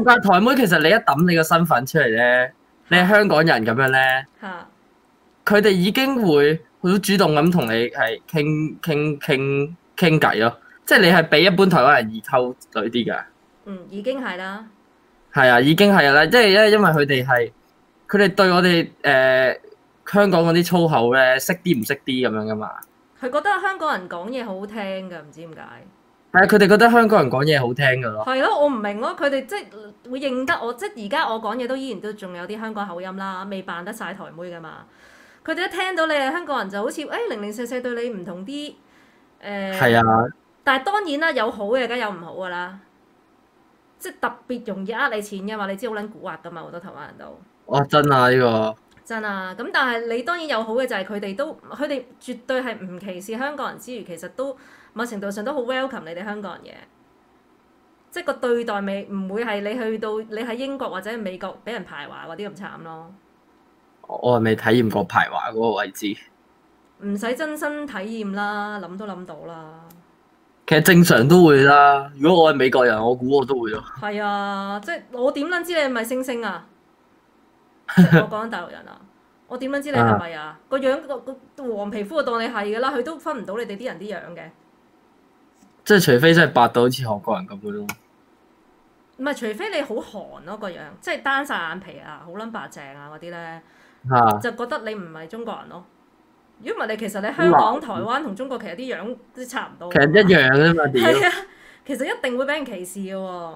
仆街台妹，其實你一抌你個身份出嚟咧，你係香港人咁樣咧，佢哋已經會好主動咁同你係傾偈咯，即係你係比一般台灣人易溝女啲㗎。 已經係啦。 係啊，已經係啦，即係因為佢哋對我哋香港嗰啲粗口咧，識啲唔識啲咁樣噶嘛。 佢覺得香港人講嘢好好聽㗎，唔知點解。 係啊，佢哋覺得香港人講嘢好聽㗎咯。 係咯，我唔明咯，佢哋即係會認得我，即係而家我講嘢都依然都仲有啲香港口音啦，未扮得晒台妹㗎嘛。佢哋一聽到你係香港人就好似零零舍舍對你唔同啲係啊。 但係當然啦，有好嘅梗有唔好㗎啦。即係特別容易呃你錢㗎嘛，你知好撚蠱惑㗎嘛，好多台灣人都。 哇！真啊呢個。 真啊，咁但係你當然有好嘅就係佢哋絕對係唔歧視香港人之餘，其實都某程度上都好 welcome 你哋香港人嘅，即係個對待未唔會係你去到你喺英國或者美國俾人排華嗰啲咁慘咯。 我係未體驗過排華嗰個位置。 唔使真身體驗啦，諗都諗到啦。 其實正常都會啦，如果我係美國人，我估我都會咯。 係啊，即係我點撚知你係咪星星啊？即係我講緊大陸人啊，我點樣知你係咪啊？個樣個黃皮膚就當你係㗎啦，佢都分唔到你哋啲人啲樣嘅。 即係除非真係白到好似韓國人咁嘅咯。 唔係，除非你好韓咯個樣，即係單晒眼皮啊，好撚白淨啊嗰啲咧，就覺得你唔係中國人咯。如果唔係你其實你香港、台灣同中國其實啲樣都差唔多。 其實一樣啫嘛， 係啊，其實一定會俾人歧視嘅喎。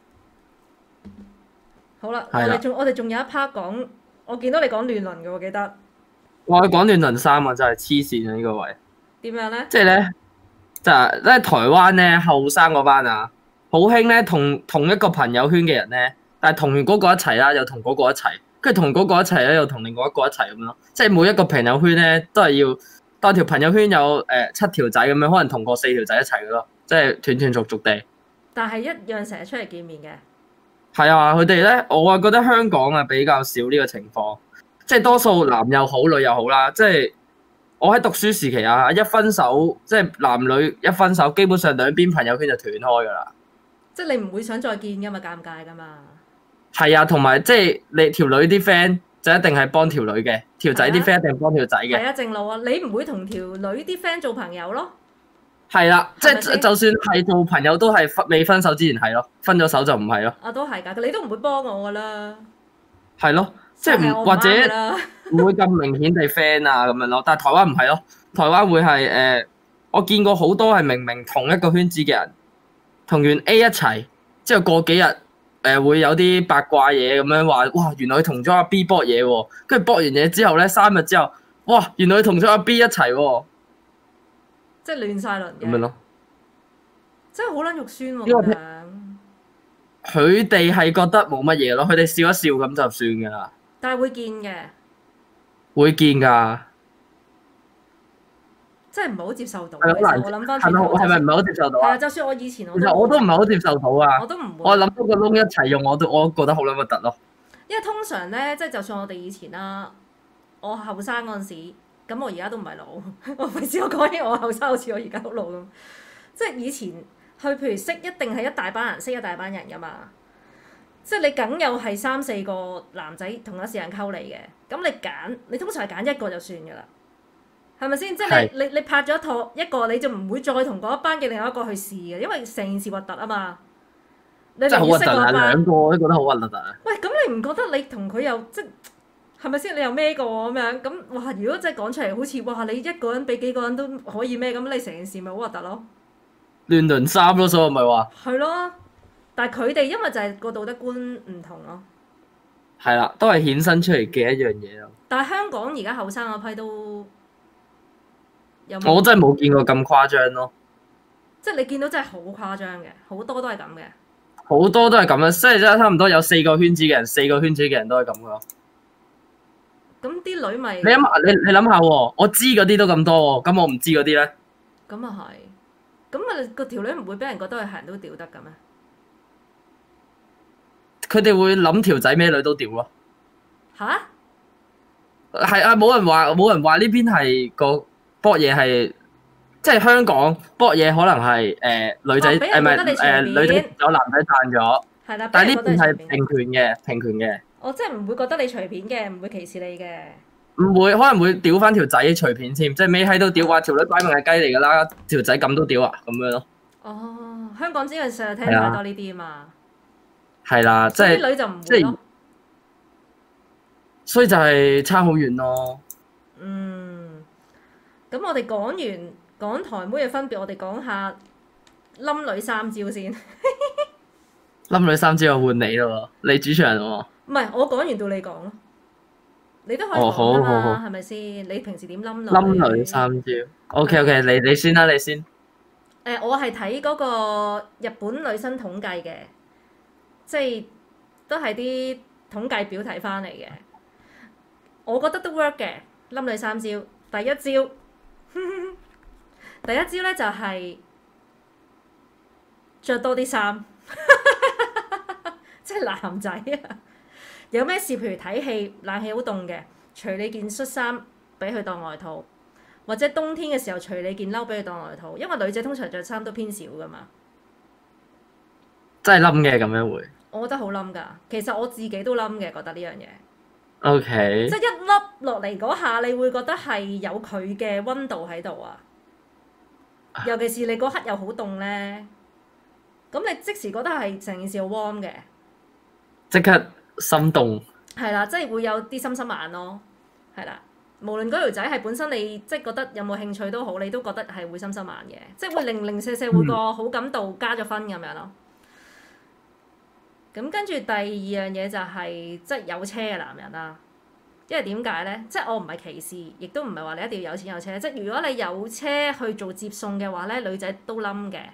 好啦，我哋仲有一 part 講，我見到你講亂倫嘅喎，記得。 我講亂倫3啊，真係黐線啊呢個位。點樣咧？ 即係咧，就係咧台灣咧後生嗰班啊，好興咧同一個朋友圈嘅人咧，但係同完嗰個一齊啦，又同嗰個一齊，跟住同嗰個一齊咧，又同另外一個一齊咁樣咯。即係每一個朋友圈咧，都係要當條朋友圈有7條仔咁樣，可能同過4條仔一齊嘅咯，即係斷斷續續地。但係一樣成日出嚟見面嘅。係啊，佢哋咧，我啊覺得香港啊比較少呢個情況，即係多數男又好，女又好啦。即係我喺讀書時期啊，一分手，即係男女一分手，基本上兩邊朋友圈就斷開㗎啦。即係你唔會想再見㗎嘛，尷尬㗎嘛。係啊，同埋即係你條女啲 friend 就一定係幫條女嘅，條仔啲 friend 一定幫條仔嘅。係啊，正路啊，你唔會同條女啲 friend 做朋友咯。係啦，即係就算係做朋友都係未分手之前係咯，分咗手就唔係咯。啊，都係㗎，你都唔會幫我㗎啦。係咯，即係唔或者唔會咁明顯地 friend 啊咁樣咯。但係台灣唔係咯，台灣會係我見過好多係明明同一個圈子嘅人，同完 A 一齊，之後過幾日會有啲八卦嘢咁樣話，哇原來佢同咗阿 B 搏嘢喎，跟住搏完嘢之後咧3日之後，哇原來佢同咗阿 B 一齊喎。即係亂晒輪嘅，咁樣咯，真係好撚肉酸喎咁樣。佢哋係覺得冇乜嘢咯，佢哋笑一笑咁就算㗎啦。但係會見嘅，會見㗎。真係唔係好接受到。我諗翻轉頭，係咪唔係好接受到啊？係啊，就算我以前其實我都唔係好接受到啊。我都唔會。我諗到個窿一齊用，我覺得好撚核突咯。因為通常咧，即係就算我哋以前啦，我後生嗰陣時。咁我而家都唔係老，我費事我講起我後生好似我而家好老咁。即係以前去譬如識一定係一大班人識一大班人㗎嘛，即係你梗有係3、4個男仔同一時間溝你嘅，咁你通常係揀一個就算㗎啦，係咪先？即係你拍咗拖一個你就唔會再同嗰一班嘅另外一個去試嘅，因為成件事核突啊嘛。你真係好核突啊！兩個我都覺得好核突啊！喂，咁你唔覺得你同佢又即係咪先？你又孭過咁樣咁哇？如果真係講出嚟，好似哇！你一個人比幾個人都可以孭，咁你成件事咪好核突咯？亂倫3咯，所以咪話係咯。但係佢哋因為就係個道德觀唔同咯。係啦，都係衍生出嚟嘅一樣嘢咯。但係香港而家後生嗰批都有冇？我真係冇見過咁誇張咯。即係你見到真係好誇張嘅，好多都係咁嘅。好多都係咁樣，即係真係差唔多有4個圈子嘅人，4個圈子嘅人都係咁嘅咯。咁啲女咪你諗下喎，我知嗰啲都咁多喎，咁我唔知嗰啲咧？咁啊係，咁啊個條女唔會俾人覺得佢係人都屌得嘅咩？佢哋會諗條仔咩女都屌咯。吓？係啊，冇人話呢邊係個搏嘢係，即係香港搏嘢可能係女仔女仔有男仔彈咗， 係啦， 但係呢邊係俾人覺得你隨便。 平權嘅， 我即係唔會覺得你隨便嘅，唔會歧視你嘅。 唔會可能會屌翻條仔隨便添，即係尾喺度屌話條女擺明係雞嚟㗎啦，條仔咁都屌啊咁樣咯。 哦，香港真係成日聽太多呢啲啊嘛。 係啦，即係啲女就唔會咯。 所以就係差好遠咯。 咁我哋講完港台妹嘅分別，我哋講下冧女三招先。 冧女三招又換你咯，你主持人喎。 唔係，我講完到你講咯。你都可以哦， 講㗎嘛， 好， 係咪先？你平時點冧女？ 冧女三招。OK，你先啦，你先。 我係睇嗰個日本女生統計嘅，即係都係啲統計表睇翻嚟嘅。我覺得都 work 嘅，冧女三招。第一招，第一招咧就係着多啲衫，即係男仔啊！有咩事？譬如睇戲，冷氣好凍嘅，除你件恤衫俾佢當外套，或者冬天嘅時候除你件褸俾佢當外套，因為女仔通常着衫都偏少噶嘛。 真係冧嘅咁樣會。 我覺得好冧㗎，其實我自己都冧嘅，覺得呢樣嘢。 OK。 即係一粒落嚟嗰下，你會覺得係有佢嘅溫度喺度啊！尤其是你嗰刻又好凍咧，咁你即時覺得係成件事好 warm 嘅。 即刻心動。 係啦，即係會有啲心心眼咯，係啦。無論嗰條仔係本身你即係覺得有冇興趣都好，你都覺得係會心心眼嘅，即係會零零舍舍會個好感度加咗分咁樣咯。咁跟住第二樣嘢就係即係有車嘅男人啦，因為點解咧？即係我唔係歧視，亦都唔係話你一定要有錢有車。即係如果你有車去做接送嘅話咧，女仔都冧嘅。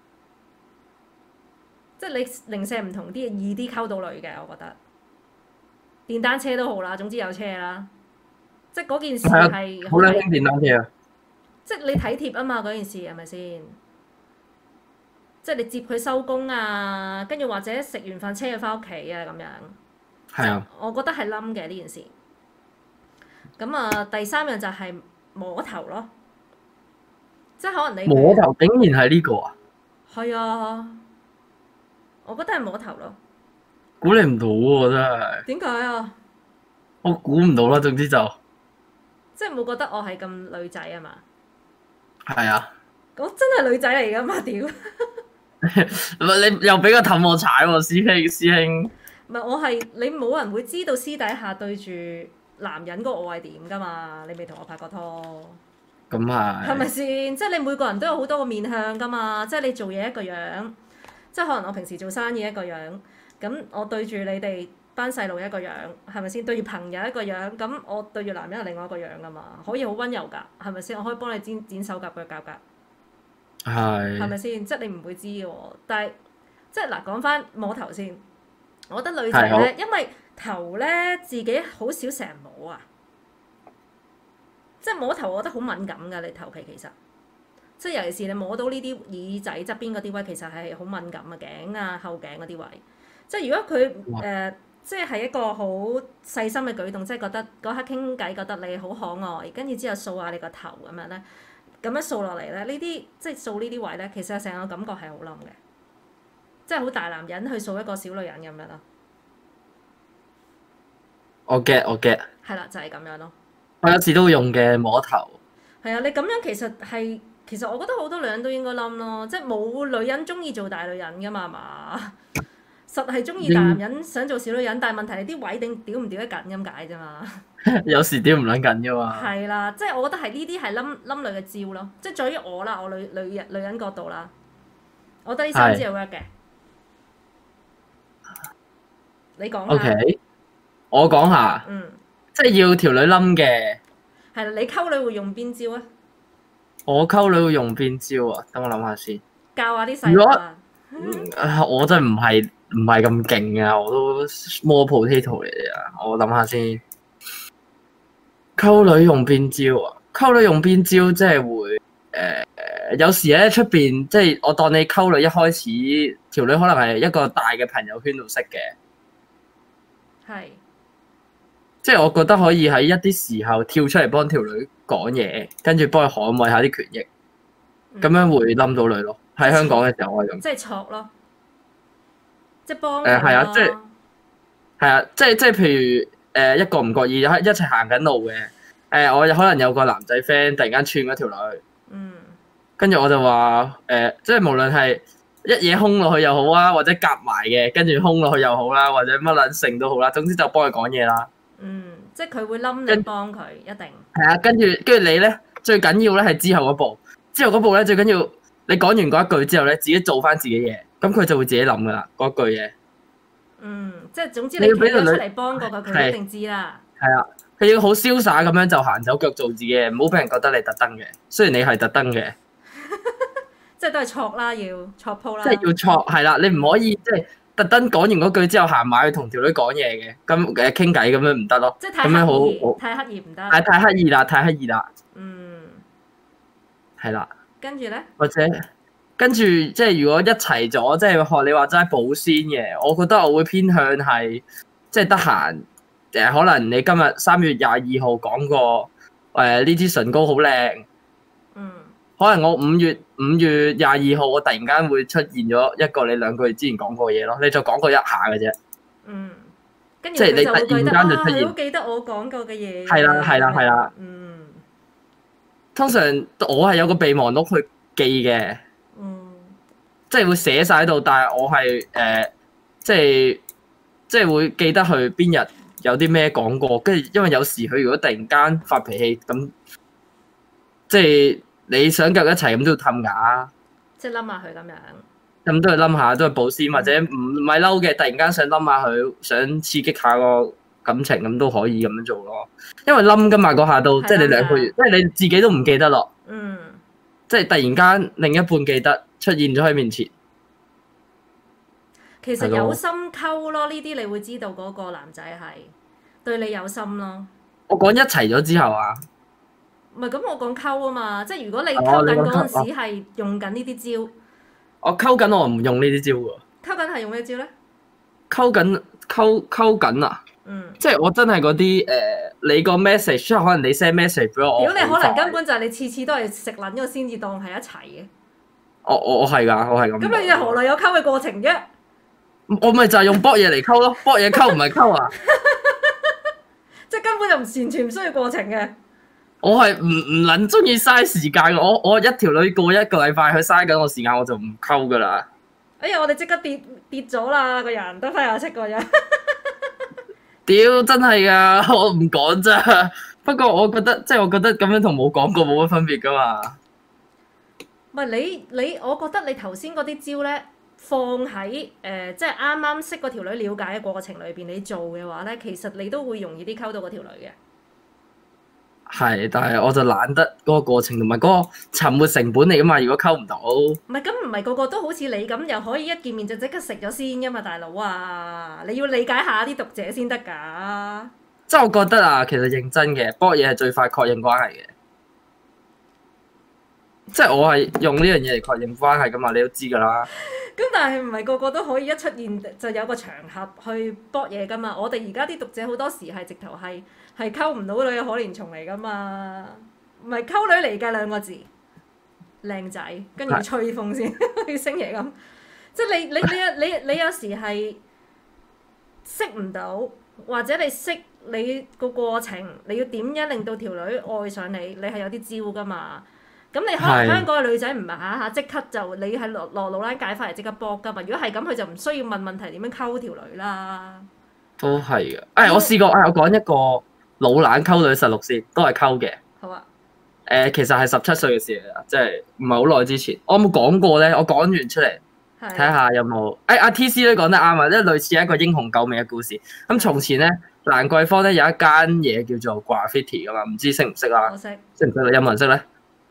即係你零舍唔同啲，易啲溝到女嘅，我覺得。電單車都好啦，總之有車啦。即係嗰件事係好靚興電單車啊！ 即係你體貼啊嘛，嗰件事係咪先？即係你接佢收工啊，跟住或者食完飯車佢翻屋企啊咁樣。 係啊。 我覺得係冧嘅呢件事。咁啊，第三樣就係摸頭咯。即係可能你摸頭竟然係呢個啊？ 係啊，我覺得係摸頭咯。 估你唔到喎，真係。 點解啊？ 我估唔到啦，總之就即係冇覺得我係咁女仔啊嘛。 係啊。 我真係女仔嚟噶嘛？屌！ 你又俾個氹我踩喎，師兄。 唔係我係你冇人會知道私底下對住男人個我係點噶嘛？你未同我拍過拖。 咁係。 係咪先？即係你每個人都有好多個面向噶嘛？即係你做嘢一個樣，即係可能我平時做生意一個樣，咁我對住你哋班細路一個樣，係咪先？對住朋友一個樣，咁我對住男人係另外一個樣噶嘛？可以好溫柔㗎，係咪先？我可以幫你剪手甲腳甲㗎。係咪先？即係你唔會知嘅喎，但係即係嗱，講翻摸頭先，我覺得女仔咧，因為頭咧自己好少成日摸啊，即係摸頭，我覺得好敏感㗎。你頭皮其實，即係尤其是你摸到呢啲耳仔側邊嗰啲位，其實係好敏感啊，頸啊、後頸嗰啲位。即係如果佢即係一個好細心嘅舉動，即係覺得嗰刻傾偈覺得你好可愛，跟住之後掃下你個頭咁樣咧。咁樣掃落嚟咧，呢啲即係掃呢啲位咧，其實成個感覺係好冧嘅，即係好大男人去掃一個小女人咁樣咯。 我 get。 係啦，就係咁樣咯。 我有時都會用嘅摸頭。 係啊，你咁樣其實我覺得好多女人都應該冧咯，即係冇女人中意做大女人噶嘛，係嘛？實係中意大男人想做小女人，但係問題你啲位屌唔屌得緊咁解啫嘛。 有時屌唔撚緊啫嘛。 係啦，即係我覺得係呢啲係冧女嘅招咯，即係在於我啦，我女人角度啦，我覺得呢三招係 work 嘅。你講下。 OK，我講下。即係要條女冧嘅。 係啦，你溝女會用邊招啊？ 我溝女會用邊招啊？等我諗下先。 教下啲細路啊。 我真係唔係咁勁啊！我都 small potato 嚟啊！我諗下先。溝女用邊招啊？溝女用邊招即係會有時咧出邊即係我當你溝女一開始條女可能係一個大嘅朋友圈度識嘅。係。即係我覺得可以喺一啲時候跳出嚟幫條女講嘢，跟住幫佢捍衞下啲權益，咁樣會冧到女咯。喺香港嘅時候我係咁。 即係錯咯。 即係幫係啊， 佢即係咯。 係啊，即係譬如一個唔覺意一齊行緊路嘅，我可能有個男仔 friend 突然間串嗰條女， 嗯跟住我就話即係無論係一嘢轟落去又好啊，或者夾埋嘅，跟住轟落去又好啦，或者乜撚性都好啦，總之就幫佢講嘢啦。 即係佢會冧你幫佢，一定。 係啊，跟住你咧最緊要咧係之後嗰步，之後嗰步咧最緊要你講完嗰一句之後咧，自己做翻自己嘢，咁佢就會自己諗噶啦嗰句嘢。 即係總之你企咗出嚟幫過佢，佢一定知啦。 係啊，佢要好瀟灑咁樣就行走腳做自己嘢，唔好俾人覺得你特登嘅。雖然你係特登嘅， 即係都係錯啦，要錯鋪啦。 即係要錯係啦，你唔可以即係特登講完嗰句之後行埋去同條女講嘢嘅，咁傾偈咁樣唔得咯。 即係太刻意，太刻意唔得。 太刻意啦，太刻意啦。係啦。 跟住咧？ 或者跟住即係如果一齊咗，即係學你話齋保鮮嘅，我覺得我會偏向係即係得閒可能你今日3月22號講過呢支唇膏好靚，可能我5月22號我突然間會出現咗一個你2個月之前講過嘅嘢咯，你就講過一下嘅啫。 跟住你突然間就出現，好記得我講過嘅嘢。 係啦。通常我係有個備忘錄去記嘅。即係會寫晒喺度，但係我係即係會記得佢邊日有啲咩講過，跟住因為有時佢如果突然間發脾氣咁，即係你想夾一齊咁都要氹㗎， 即係冧下佢咁樣， 咁都係冧下，都係保鮮，或者唔係嬲嘅，突然間想冧下佢，想刺激下個感情咁都可以咁樣做咯。因為冧㗎嘛嗰下都，即係你2個月，即係你自己都唔記得咯。即係突然間另一半記得出現咗喺面前， 其實有心溝咯，呢啲你會知道嗰個男仔係對你有心咯。 我講一齊咗之後啊， 唔係咁，我講溝啊嘛，即係如果你溝緊嗰陣時係用緊呢啲招， 我溝緊我唔用呢啲招喎。 溝緊係用咩招咧？ 溝緊啊！即係我真係嗰啲你個 message， 即係可能你 send message 俾我。 如果你可能根本就係你次次都係食撚咗先至當係一齊嘅。 我係㗎，我係咁。 咁你何來有溝嘅過程啫？ 我咪就係用搏嘢嚟溝咯，搏嘢溝唔係溝啊！ 即係根本就完全唔需要過程嘅。 我係唔撚中意嘥時間嘅，我一條女過一個禮拜去嘥緊我時間，我就唔溝㗎啦。 哎呀！我哋即刻跌咗啦，個人得翻廿七個人。 屌，真係㗎，我唔講咋。不過我覺得咁樣同冇講過冇乜分別㗎嘛。 唔係你，我覺得你頭先嗰啲招咧，放喺即係啱啱識嗰條女了解嘅過程裏邊，你做嘅話咧，其實你都會容易啲溝到嗰條女嘅。 係，但係我就懶得嗰個過程同埋嗰個沉沒成本嚟噶嘛。如果溝唔到， 唔係咁，唔係個個都好似你咁，又可以一見面就即刻食咗先噶嘛，大佬啊！你要理解下啲讀者先得㗎。 即係我覺得啊，其實認真嘅搏嘢係最快確認關係嘅。即係我係用呢樣嘢嚟確認關係噶嘛，你都知㗎啦。 咁但係唔係個個都可以一出現就有個場合去搏嘢㗎嘛？我哋而家啲讀者好多時係直頭係溝唔到女嘅可憐蟲嚟㗎嘛，唔係溝女嚟嘅2個字，靚仔，跟住吹風先，好似星爺咁。即係你有時係識唔到，或者你識你個過程，你要點樣令到條女愛上你？你係有啲招㗎嘛？咁你可能香港嘅女仔唔係下下即刻就你係落老蘭解翻嚟即刻搏㗎嘛？如果係咁，佢就唔需要問問題點樣溝條女啦。都係嘅。我試過，我講一個老蘭溝女實錄先，都係溝嘅。 好啊。 其實係17歲嘅事嚟啦，即係唔係好耐之前。我有冇講過咧？我講完出嚟，睇下有冇。阿 TC 都講得啱啊，即係類似一個英雄救美嘅故事。咁從前咧，蘭桂坊咧有一間嘢叫做 Graffiti 㗎嘛，唔知識唔識啦？ 我識。 識唔識咧？有冇人識咧？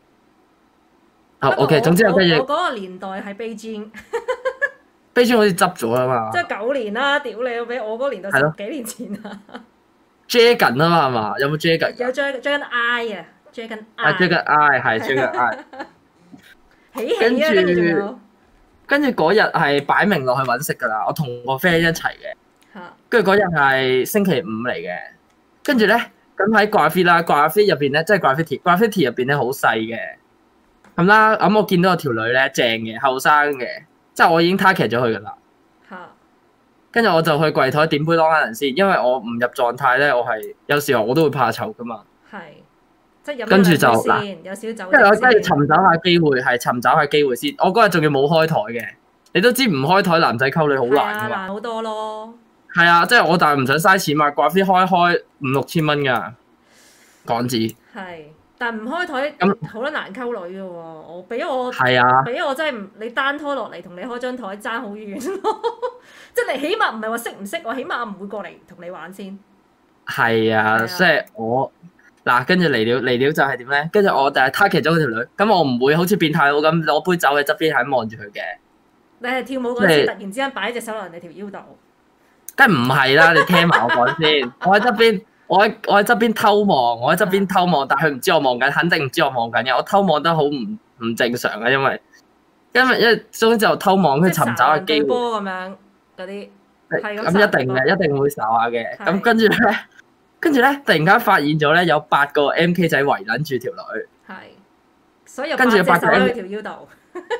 OK， 總之有間嘢。 我嗰個年代係 Beijing。 Beijing 好似執咗啦嘛。 即係9年啦，屌你！俾我嗰個年代10幾年前啊。 Dragon 啊嘛係嘛？有冇 Dragon？ 有 Dragon Eye 啊 ，Dragon Eye。 Dragon Eye 係 Dragon Eye。 起啊！跟住仲有。 跟住嗰日係擺明落去揾食㗎啦，我同個 friend 一齊嘅。跟住嗰日係星期5嚟嘅，跟住咧咁喺 Graffiti 啦 ，Graffiti 入邊咧，即係 Graffiti 入邊咧好細嘅。咁啦，咁我見到有條女咧正嘅，後生嘅，即係我已經 target 咗佢㗎啦。 跟住我就去櫃台點杯 Long Island 先，因為我唔入狀態咧，我係有時候我都會怕醜噶嘛。 係，即係飲跟住就先，有少少酒。 跟住我跟住尋找下機會，係尋找下機會先。我嗰日仲要冇開台嘅，你都知唔開台男仔溝女好難噶嘛。 難好多咯。 係啊，即係我但係唔想嘥錢嘛，掛飛開5、6千蚊㗎港紙。係。 但唔開台咁好多難溝女嘅喎，我俾我真係唔你單拖落嚟同你開張台爭好遠咯，即係你起碼唔係話識唔識，我起碼唔會過嚟同你玩先。係啊， 即係我嗱跟住嚟料就係點咧？跟住我就係 target 咗嗰條女，咁我唔會好似變態佬咁攞杯酒喺側邊係咁望住佢嘅。 你係跳舞嗰時突然之間擺隻手落人哋條腰度？ 梗係唔係啦，你聽埋我講先，我喺側邊。我喺側邊偷望，但係佢唔知我望緊，肯定唔知我望緊嘅。我偷望得好唔正常嘅，因為總之就偷望去尋找下機會。 波咁樣嗰啲，咁一定會睄下嘅。咁跟住咧，突然間發現咗咧有8個 MK 仔圍撚住條女。係， 所以跟住8個喺條腰度。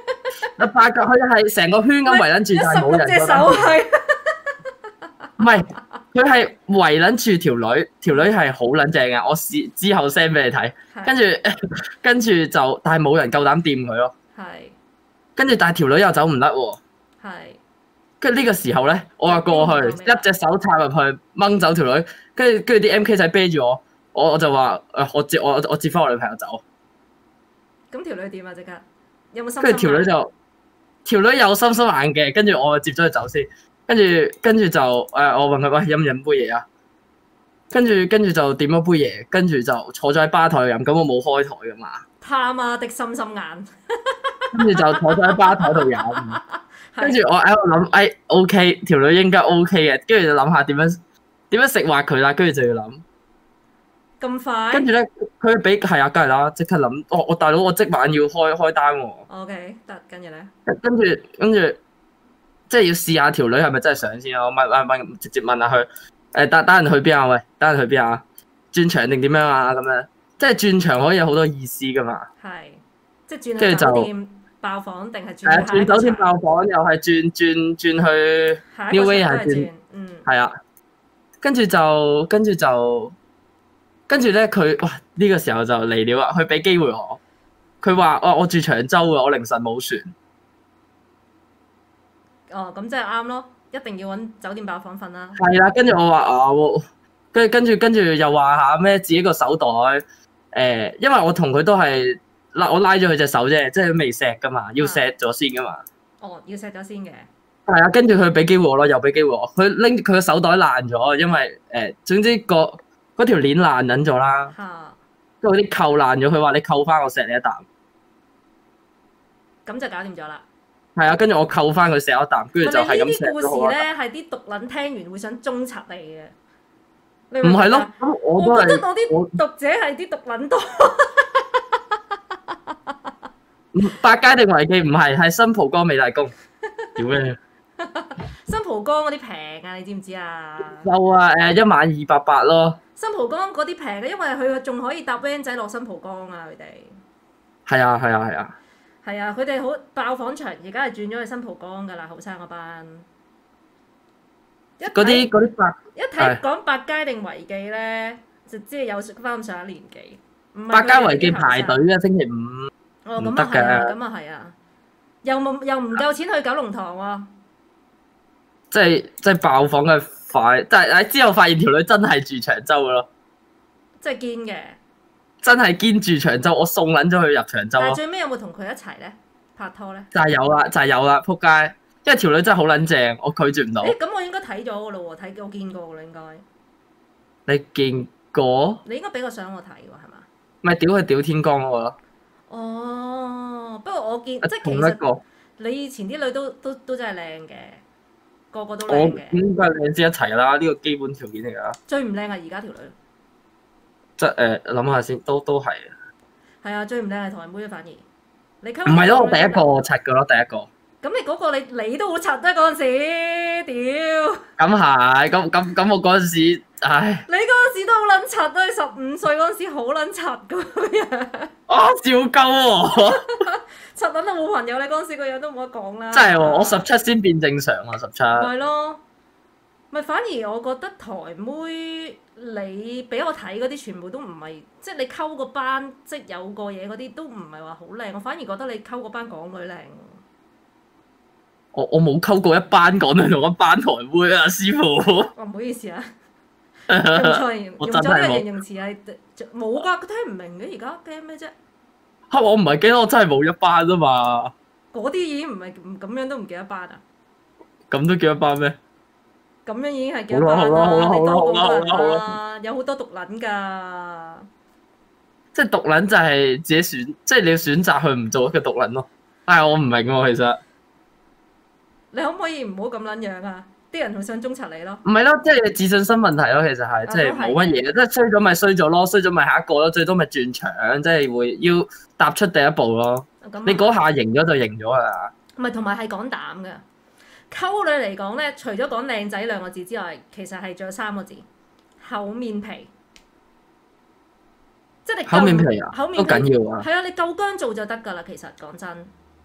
8個佢係成個圈咁圍撚住，但係冇人。隻手係。唔係。佢係圍撚住條女，條女係好撚正嘅。我之後 send 俾你睇，跟住就，但係冇人夠膽掂佢咯。係。跟住但係條女又走唔甩喎。係。跟住呢個時候咧，我話過去一隻手插入去掹走條女，跟住啲 MK 仔啤住我，我就話我接翻我女朋友走。 咁條女點啊？即刻有冇心？ 跟住條女有心眼嘅，跟住我就接咗佢走先。跟住就我問佢喂，飲唔飲杯嘢啊？跟住就點咗杯嘢，跟住就坐咗喺吧台度飲。咁我冇開台噶嘛。貪啊的心眼。跟住就坐咗喺吧台度飲。跟住我喺度諗，OK 條女應該 OK 嘅。跟住就諗下點樣食滑佢啦。跟住就要諗。 咁快？跟住咧，佢俾係啊，梗係啦，即刻諗。我大佬，我即晚要開單喎。 OK 得，跟住咧。 跟住。即係要試下條女係咪真係想先咯？問直接問下佢單人去邊啊？喂，單人去邊啊？轉場定點樣啊？咁樣即係轉場可以有好多意思噶嘛？係，即係轉去酒店爆房定係轉酒店爆房，又係轉去 New Way 係轉，係啊。跟住咧，佢哇呢個時候就嚟了啊！佢俾機會我，佢話我住長洲嘅，我凌晨冇船。哦，咁即係啱咯，一定要揾酒店爆房瞓啦。係啦，跟住我話跟住又話下咩自己個手袋，因為我同佢都係我拉咗佢隻手啫，即係未錫噶嘛，要錫咗先噶嘛。哦，要錫咗先嘅。係啊，跟住佢俾機會我咯，又俾機會我。佢拎佢個手袋爛咗，因為總之嗰條鏈爛撚咗啦。嚇！跟住啲扣爛咗，佢話你扣翻我錫你一啖。咁就搞掂咗啦。係啊，跟住我扣翻佢錫一啖，跟住就係咁錫咗。呢啲故事咧係啲毒撚聽完會想中插你嘅。唔係咯，咁我覺得我啲讀者係啲毒撚多。百佳定維記唔係新蒲崗美大公。屌咩？新蒲崗嗰啲平啊，你知唔知啊？有啊，1晚280咯。新蒲崗嗰啲平嘅，因為佢仲可以搭 van 仔落新蒲崗啊，佢哋。係啊，係啊，係啊。係啊，佢哋好爆房場，而家係轉咗去新蒲崗噶啦，後生嗰班。嗰啲百一睇講百佳定維記咧，就知係有翻咁上下年紀。百佳維記排隊嘅星期5。哦，咁啊係啊，咁啊係啊，又唔夠錢去九龍塘喎。即係爆房嘅快，但係之後發現條女真係住長洲嘅咯。即係堅嘅。真係堅住長洲，我送撚咗佢入長洲咯。但係最尾有冇同佢一齊咧？拍拖咧？就係有啦，仆街！因為條女真係好撚正，我拒絕唔到。咁我應該睇咗嘅咯喎，我見過嘅啦應該。你見過？你應該俾個相我睇喎，係嘛？咪屌佢屌天光嗰個咯。哦，不過我見即係其實你以前啲女都真係靚嘅，個個都靚嘅。我應該靚先一齊啦，呢個基本條件嚟㗎。最唔靚係而家條女。即係諗下先，都係。係啊，最唔靚係台妹反而。你溝唔係咯？我第一個柒嘅咯，第一個。咁你嗰個你都好柒啊！嗰陣時，屌。咁係，咁我嗰陣時，唉。你嗰陣時都好撚柒啊！你15歲嗰陣時好撚柒咁樣。啊！照鳩喎。柒撚到冇朋友，你嗰陣時個樣都冇得講啦。真係喎，我17先變正常啊，17。係咯。 咪反而我覺得台妹你俾我睇嗰啲全部都唔係，即係你溝個班即有個嘢嗰啲都唔係話好靚，我反而覺得你溝個班港女靚喎。 我冇溝過一班港女同一班台妹啊，師傅。 唔好意思啊，用錯我用真係冇。 咗呢個形容詞係冇㗎，佢聽唔明嘅而家驚咩啫？ 嚇！我唔係記得我真係冇一班啊嘛。 嗰啲已經唔係咁樣都唔記得班啊！ 咁都叫一班咩？ 咁樣已經係幾多班啦？ 好啦你多過好啦人啦，有好多毒撚㗎。 即係毒撚就係自己選，即係你要選擇去唔做一個毒撚咯。但係我唔明喎，其實。 你可唔可以唔好咁撚樣啊？啲人好想中柒你咯。 唔係咯，即係自信心問題咯，其實係即係冇乜嘢，即係衰咗咪衰咗咯，衰咗咪下一個咯，最多咪轉場，即係會要踏出第一步咯。你嗰下贏咗就贏咗啦。 唔係，同埋係講膽㗎。溝女嚟講咧，除咗講靚仔兩個字之外，其實係仲有3個字：厚面皮。即係你厚面皮啊， 厚面皮都緊要啊。 係啊，你夠薑做就得㗎啦。其實講真，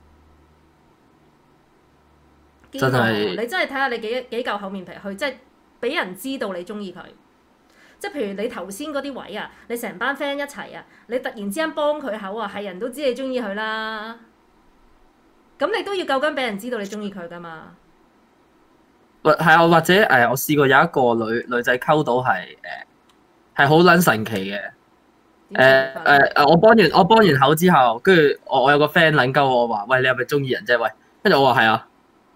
真係你真係睇下你幾夠厚面皮去，即係俾人知道你中意佢。即係譬如你頭先嗰啲位啊，你成班 friend 一齊啊，你突然之間幫佢口啊，係人都知你中意佢啦。咁你都要夠薑俾人知道你中意佢㗎嘛？ 係啊，或者我試過有一個女仔溝到係好撚神奇嘅。我幫完口之後，跟住我有個 friend 撚鳩我話：喂，你係咪中意人啫？喂，跟住我話係啊，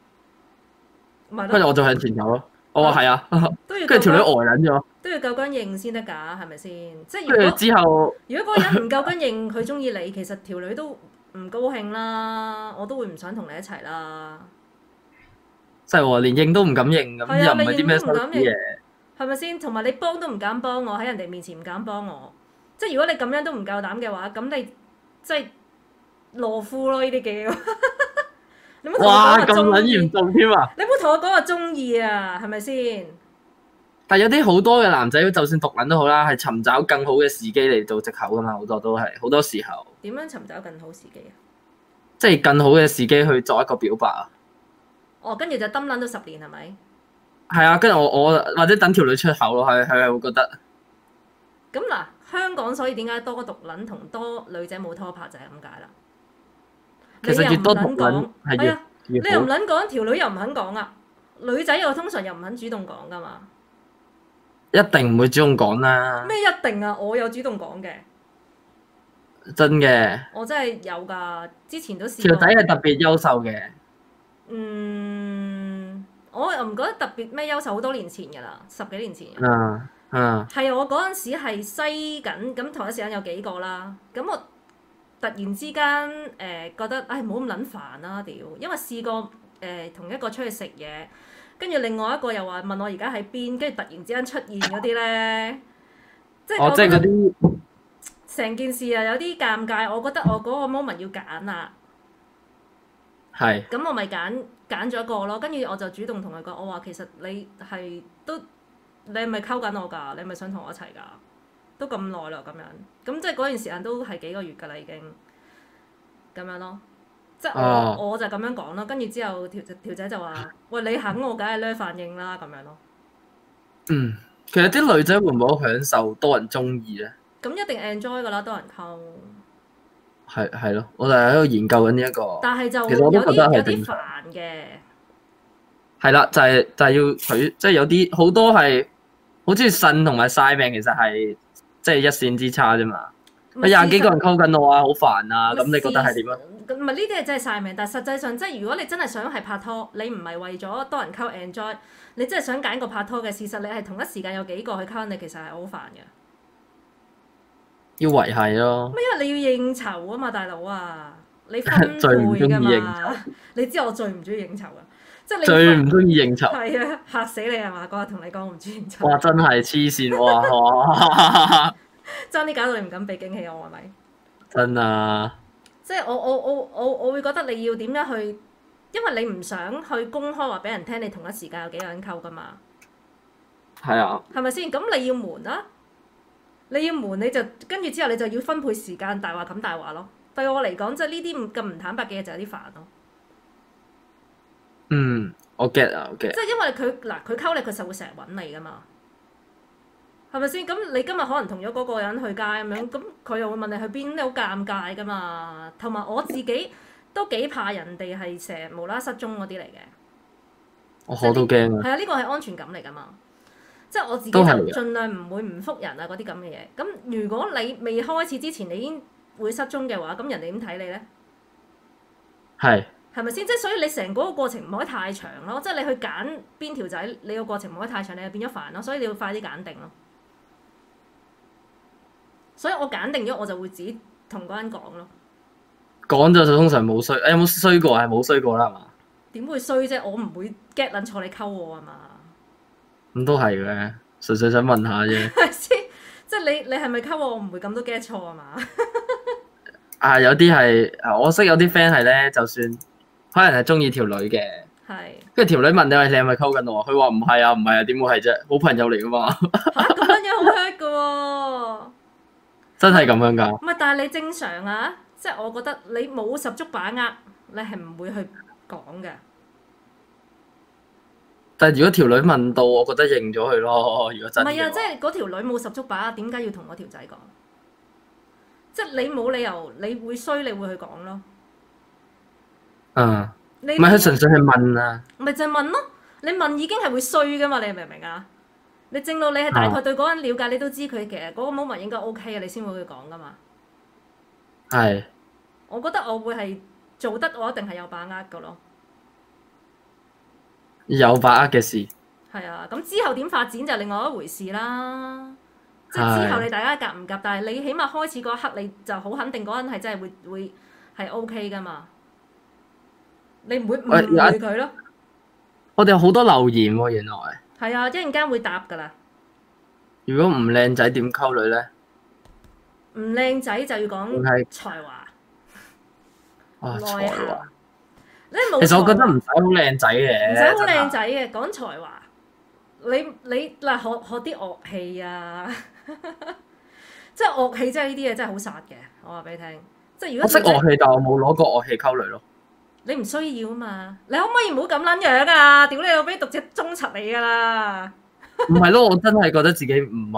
跟住我就向前走咯。我話係啊，跟住條女呆撚咗。 都要夠薑認先得㗎，係咪先？即係跟住之後， 如果嗰個人唔夠薑認佢中意你，其實條女都唔高興啦，我都會唔想同你一齊啦。 真係喎，連認都唔敢認咁，又唔係啲咩羞恥嘢， 係咪先？同埋你幫都唔敢幫我，喺人哋面前唔敢幫我，即係如果你咁樣都唔夠膽嘅話，咁你即係懦夫咯呢啲叫。你唔好同我講話中意。哇！咁撚嚴重添啊！你唔好同我講話中意啊，係咪先？ 但係有啲好多嘅男仔，就算毒撚都好啦，係尋找更好嘅時機嚟做藉口噶嘛，好多都係好多時候。 點樣尋找更好時機啊？ 即係更好嘅時機去作一個表白啊！ 哦，跟住就抌撚到10年係咪？ 係啊，跟住我或者等條女出口咯，係會覺得。 咁嗱，香港所以點解多毒撚同多女仔冇拖拍就係咁解啦。 其實越多毒撚係越好。 你又唔撚講，條女又唔肯講啊！女仔又通常又唔肯主動講噶嘛。 一定唔會主動講啦。 咩一定啊？我有主動講嘅。 真嘅。 我真係有㗎，之前都試過。 條仔係特別優秀嘅。 我又唔覺得特別咩優秀，好多年前㗎啦，10幾年前。係我嗰陣時係篩緊，咁同一時間有幾個啦，咁我突然之間覺得，唉，唔好咁撚煩啦，屌！因為試過同一個出去食嘢，跟住另外一個又話問我而家喺邊，跟住突然之間出現嗰啲咧，即係我覺得成件事啊有啲尷尬，我覺得我嗰個 moment 要揀啦。係。咁我咪揀咗一個咯，跟住我就主動同佢講，我話其實你係咪溝緊我㗎？你係咪想同我一齊㗎？都咁耐啦，咁樣，咁即係嗰段時間都係幾個月㗎啦，已經咁樣咯。即係我就咁樣講咯，跟住之後條仔就話：喂，你肯我，梗係咧反應啦，咁樣咯。 其實啲女仔會唔會好享受多人中意咧？ 咁一定 enjoy 㗎啦，多人溝。 係咯，我就喺度研究緊呢一個。 但係就其實我都覺得係有啲煩嘅。係啦，就係要取，即係有啲好多係好中意呻同埋晒命，其實係即係一線之差啫嘛。20幾個人溝緊我啊，好煩啊！咁你覺得係點啊？ 唔係呢啲係真係晒命，但係實際上即係如果你真係想係拍拖，你唔係為咗多人溝 enjoy，你真係想揀個拍拖嘅事實，你係同一時間有幾個去溝你，其實係好煩嘅。要維繫咯。因為你要應酬啊嘛，大佬啊，你分配㗎嘛。你知我最唔中意應酬啊，即係你最唔中意應酬。係啊，嚇死你係嘛？嗰日同你講我唔中意應酬。哇！真係黐線哇！爭啲搞到你唔敢俾驚喜我係咪？真啊！即係我會覺得你要點樣去，因為你唔想去公開話俾人聽你同一時間有幾個人溝㗎嘛。係啊。係咪先？咁你要瞞啊？你要瞞你就跟住之後你就要分配時間，大話冚大話咯。對我嚟講，即係呢啲咁唔坦白嘅嘢就有啲煩咯。 我 get 啊，我 get。 即係因為佢溝你，佢實會成日揾你噶嘛，係咪先？咁你今日可能同咗嗰個人去街咁樣，咁佢又會問你去邊，你好尷尬噶嘛。同埋我自己都幾怕人哋係成日無啦啦失蹤嗰啲嚟嘅。 我都驚啊。 係啊，呢個係安全感嚟噶嘛。即係我自己就盡量唔會唔覆人啊嗰啲咁嘅嘢。咁如果你未開始之前你已經會失蹤嘅話，咁人哋點睇你咧？係咪先？即係所以你成嗰個過程唔可以太長咯。即係你去揀邊條仔，你個過程唔可以太長，你就變咗煩咯。所以你要快啲揀定咯。所以我揀定咗，我就會自己同嗰人講咯。 講咗就通常冇衰，有冇衰過？係冇衰過啦，係嘛？ 點會衰啫？我唔會 get 撚錯你溝我啊嘛。咁都係嘅，純粹想問下啫。 係先？即係你係咪溝我？我唔會咁都 get 錯啊嘛。 有啲係，我識有啲 friend 係咧，就算可能係中意條女嘅，跟住條女問你話你係咪溝緊我？佢話唔係啊，唔係啊，點會係啫？好朋友嚟噶嘛。 嚇咁樣好 hurt 噶喎！ 真係咁樣㗎？ 唔係，但係你正常啊，即係我覺得你冇十足把握，你係唔會去講嘅。 但係如果條女問到，我覺得認咗佢咯。如果真係。唔係啊，即係嗰條女冇十足把握，點解要同嗰條仔講？即係你冇理由，你會衰，你會去講咯。 唔係佢純粹係問啊。 咪就係問咯，你問已經係會衰㗎嘛？你明唔明啊？你正到你係大概對嗰個人了解，你都知佢其實嗰個 moment 應該 OK 嘅，你先會去講㗎嘛。 係。 我覺得我會係做得，我一定係有把握㗎咯。 有把握嘅事。係啊，咁之後點發展就另外一回事啦。即係之後你大家夾唔夾，但係你起碼開始嗰一刻你就好肯定嗰人係真係會係 OK 㗎嘛。你唔會誤會佢咯。 我哋有好多留言喎，原來。 係啊，一陣間會答㗎啦。如果唔靚仔點溝女咧？ 唔靚仔就要講才華、內涵。 其實我覺得唔使好靚仔嘅。 唔使好靚仔嘅，講才華。你嗱學啲樂器啊，即係樂器，真係呢啲嘢真係好殺嘅。我話俾你聽，即係如果我識樂器，但我冇攞過樂器溝女咯。 你唔需要啊嘛，你可唔可以唔好咁撚樣啊？屌你老味，讀隻中柒你㗎啦！ 唔係咯，我真係覺得自己唔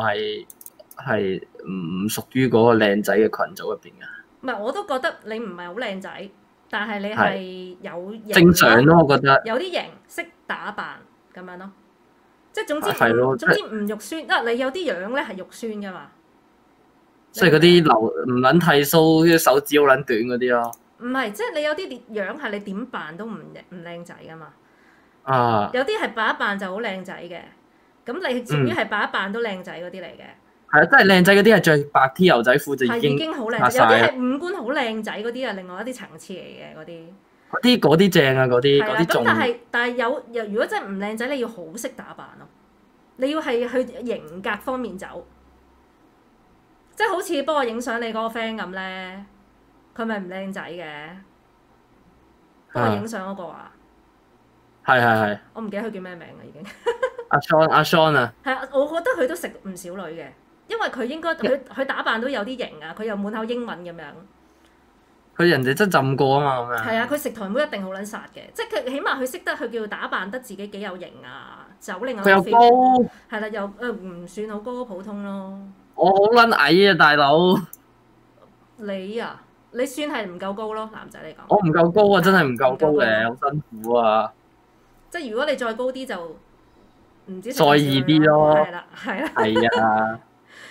屬於嗰個靚仔嘅群組入邊嘅。 唔係，我都覺得你唔係好靚仔，但係你係有型正常咯，我覺得有啲型，識打扮咁樣咯。即係總之唔肉酸，因為你有啲樣咧係肉酸㗎嘛。 即係嗰啲唔撚剃鬚，啲手指好撚短嗰啲咯。 唔係，即係你有啲樣係你點扮都唔靚仔㗎嘛。有啲係扮一扮就好靚仔嘅，咁你至於係扮一扮都靚仔嗰啲嚟嘅。 係啊，真係靚仔嗰啲係着白 T 牛仔褲就已經好靚仔。有啲係五官好靚仔嗰啲啊，另外一啲層次嚟嘅嗰啲。 嗰啲正啊，嗰啲仲。 但係如果真係唔靚仔，你要好識打扮咯。你要係去型格方面走，即係好似幫我影相你嗰個 friend 咁咧，佢咪唔靚仔嘅，幫我影相嗰個啊。 係。 我唔記得佢叫咩名啦，已經。 阿 Sean 啊。 係啊，我覺得佢都食唔少女嘅，因為佢應該佢打扮都有啲型啊，佢又滿口英文咁樣。 佢人哋真浸過啊嘛，咁樣。係啊，佢食台妹一定好撚殺嘅，即係佢起碼佢識得佢叫打扮得自己幾有型啊，走另外一個 feel。佢又高。係啦，又唔算好高，普通咯。 我好撚矮啊，大佬。 你啊，你算係唔夠高咯，男仔嚟講。 我唔夠高啊，真係唔夠高嘅，好辛苦啊。 即係如果你再高啲就唔知。 再易啲咯。 係啦。 係啊。